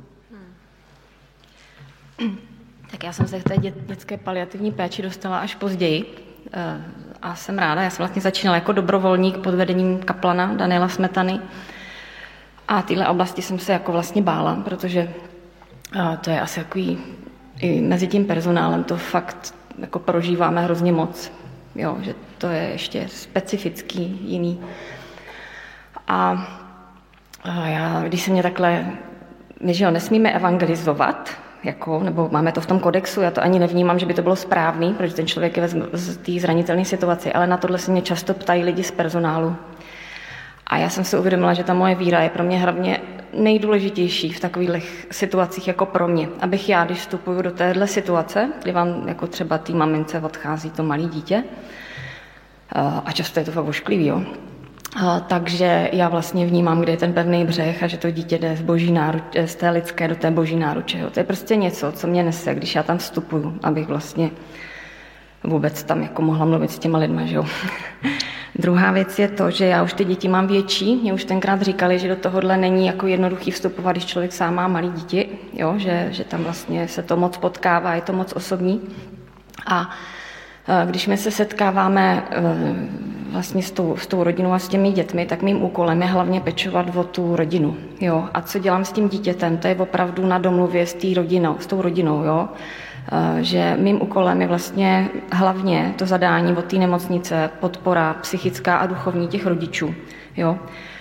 Tak já jsem se k té dět, dětské paliativní péči dostala až později a jsem ráda. Já jsem vlastně začínala jako dobrovolník pod vedením kaplana Daniela Smetany a téhle oblasti jsem se jako vlastně bála, protože to je asi takový, i mezi tím personálem to fakt jako prožíváme hrozně moc, jo, že to je ještě specifický, jiný. A, a já, když se mě takhle, my že jo, nesmíme evangelizovat, jako, nebo máme to v tom kodexu, já to ani nevnímám, že by to bylo správný, protože ten člověk je v té zranitelné situaci, ale na tohle se mě často ptají lidi z personálu. A já jsem si uvědomila, že ta moje víra je pro mě hlavně nejdůležitější v takových situacích jako pro mě. Abych já, když vstupuju do téhle situace, kdy vám jako třeba té mamince odchází to malé dítě, a často je to fakt ošklivý, jo, A, takže já vlastně vnímám, kde je ten pevný břeh a že to dítě jde z, boží náruče, z té lidské do té boží náruče. Jo. To je prostě něco, co mě nese, když já tam vstupuju, abych vlastně vůbec tam jako mohla mluvit s těma lidma. Že jo. Druhá věc je to, že já už ty děti mám větší. Mě už tenkrát říkali, že do tohohle není jako jednoduchý vstupovat, když člověk sám má malý dítě, jo, že, že tam vlastně se to moc potkává, je to moc osobní. A když my se setkáváme vlastně s tou, s tou rodinou a s těmi dětmi, tak mým úkolem je hlavně pečovat o tu rodinu. Jo? A co dělám s tím dítětem, to je opravdu na domluvě s, tý rodinou, s tou rodinou. Jo? Že mým úkolem je vlastně hlavně to zadání od té nemocnice, podpora psychická a duchovní těch rodičů. Jo?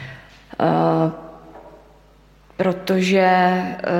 Protože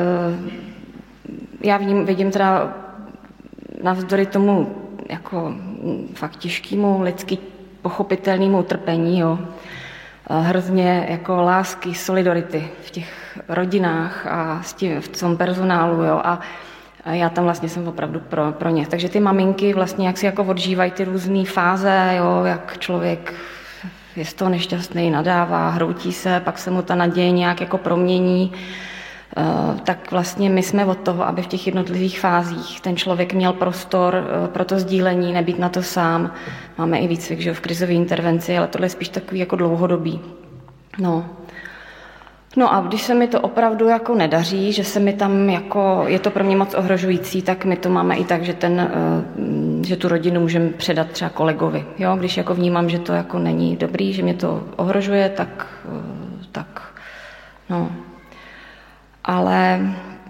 já vidím, vidím teda navzdory tomu jako fakt těžkému, lidsky pochopitelnému utrpení, jo. Hrozně jako lásky, solidarity v těch rodinách a s tím, v tom personálu, jo. A já tam vlastně jsem opravdu pro, pro ně. Takže ty maminky vlastně jak si jako odžívají ty různé fáze, jo, jak člověk je z toho nešťastný, nadává, hroutí se, pak se mu ta naděje nějak jako promění. Uh, tak vlastně my jsme od toho, aby v těch jednotlivých fázích ten člověk měl prostor uh, pro to sdílení, nebýt na to sám. Máme i výcvik, že v krizové intervenci, ale tohle je spíš takový jako dlouhodobý. No. No a když se mi to opravdu jako nedaří, že se mi tam jako, je to pro mě moc ohrožující, tak my to máme i tak, že, ten, uh, že tu rodinu můžeme předat třeba kolegovi. Jo? Když jako vnímám, že to jako není dobrý, že mě to ohrožuje, tak, uh, tak no... Ale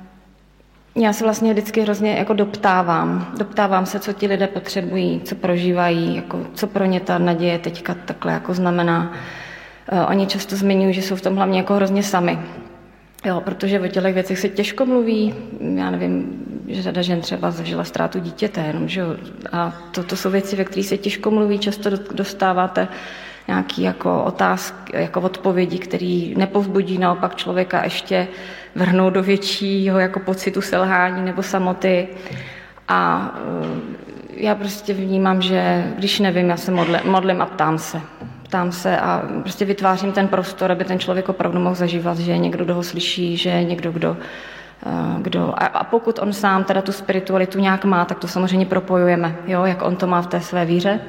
já se vlastně vždycky hrozně jako doptávám. Doptávám se, co ti lidé potřebují, co prožívají, jako, co pro ně ta naděje teďka takhle jako znamená. Uh, oni často zmiňují, že jsou v tom hlavně jako hrozně sami. Jo, protože o těch věcech se těžko mluví. Já nevím, že řada žen třeba zažila ztrátu dítěte, jenom, že jo. A to, to jsou věci, ve kterých se těžko mluví, často dostáváte nějaké jako otázky, jako odpovědi, které nepovzbudí naopak člověka ještě vrhnout do většího jako pocitu selhání nebo samoty. A já prostě vnímám, že když nevím, já se modlím, modlím a ptám se. Ptám se a prostě vytvářím ten prostor, aby ten člověk opravdu mohl zažívat, že je někdo, kdo ho slyší, že je někdo, kdo... kdo a, a pokud on sám teda tu spiritualitu nějak má, tak to samozřejmě propojujeme, jo, jak on to má v té své víře.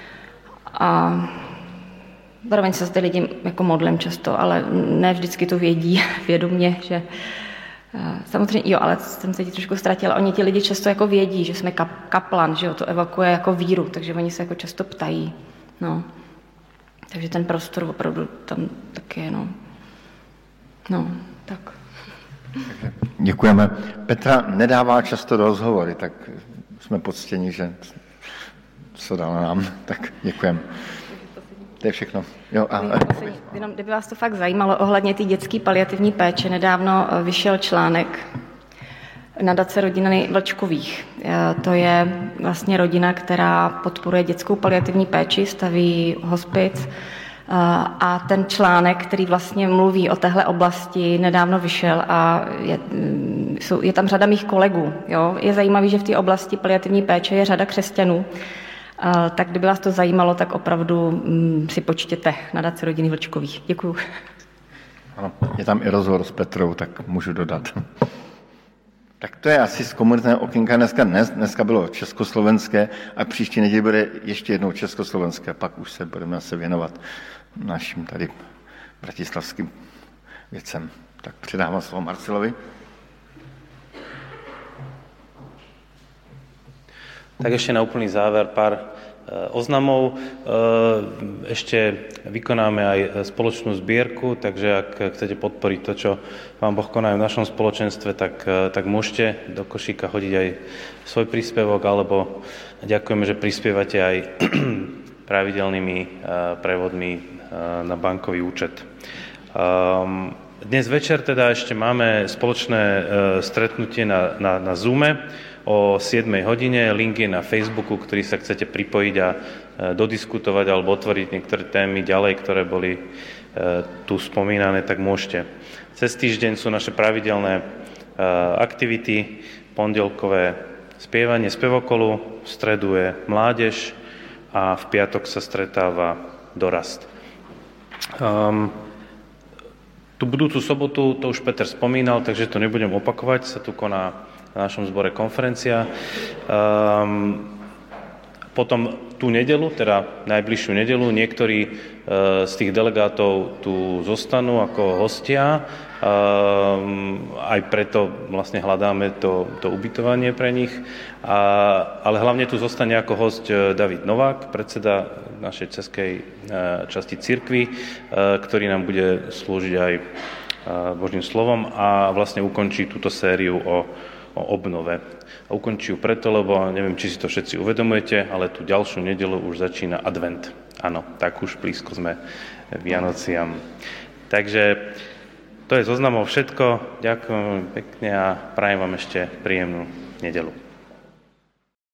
A zároveň se zde lidi jako modlím často, ale ne vždycky to vědí vědomě, že samozřejmě, jo, ale jsem se ti trošku ztratila. Oni ti lidi často jako vědí, že jsme kap, kaplan, že jo, to evokuje jako víru, takže oni se jako často ptají, no. Takže ten prostor opravdu tam taky je, no. No, tak.
Děkujeme. Petra nedává často do rozhovory, tak jsme poctěni, že co dala nám, tak děkujeme. To je všechno. Jo, a...
Jenom, kdyby vás to fakt zajímalo, ohledně té dětské paliativní péče, nedávno vyšel článek nadace rodiny Vlčkových. To je vlastně rodina, která podporuje dětskou paliativní péči, staví hospic a ten článek, který vlastně mluví o téhle oblasti, nedávno vyšel a je, jsou, je tam řada mých kolegů. Jo? Je zajímavý, že v té oblasti paliativní péče je řada křesťanů. Tak kdyby vás to zajímalo, tak opravdu si počtěte nadace rodiny Vlčkových. Děkuju.
Ano, je tam i rozhovor s Petrou, tak můžu dodat. Tak to je asi z komunitného okénka dneska. Dnes, dneska bylo československé a příští neděli bude ještě jednou československé. Pak už se budeme se věnovat našim tady bratislavským věcem. Tak předávám slovo Marcelovi.
Tak ešte na úplný záver pár oznamov. Ešte vykonáme aj spoločnú zbierku, takže ak chcete podporiť to, čo Pán Boh koná v našom spoločenstve, tak, tak môžete do košíka hodiť aj svoj príspevok, alebo ďakujeme, že prispievate aj pravidelnými prevodmi na bankový účet. Dnes večer teda ešte máme spoločné stretnutie na, na, na Zoome o siedmej hodine. Link je na Facebooku, ktorý sa chcete pripojiť a dodiskutovať alebo otvoriť niektoré témy ďalej, ktoré boli tu spomínané, tak môžete. Cez týždeň sú naše pravidelné aktivity, pondelkové spievanie spevokolu, v stredu je mládež a v piatok sa stretáva dorast. Um, tú budúcu sobotu, to už Peter spomínal, takže to nebudem opakovať, sa tu koná na našom zbore konferencia. Um, potom tú nedelu, teda najbližšiu nedelu, niektorí uh, z tých delegátov tu zostanú ako hostia. Um, aj preto vlastne hľadáme to, to ubytovanie pre nich. A, ale hlavne tu zostane ako host David Novák, predseda našej českej uh, časti cirkvi, uh, ktorý nám bude slúžiť aj uh, Božím slovom a vlastne ukončí túto sériu o o obnove. A ukončí ju preto, lebo neviem, či si to všetci uvedomujete, ale tú ďalšiu nedeľu už začína advent. Áno, tak už blízko sme Vianociam. Takže to je zoznamov všetko. Ďakujem pekne a prajem vám ešte príjemnú nedeľu.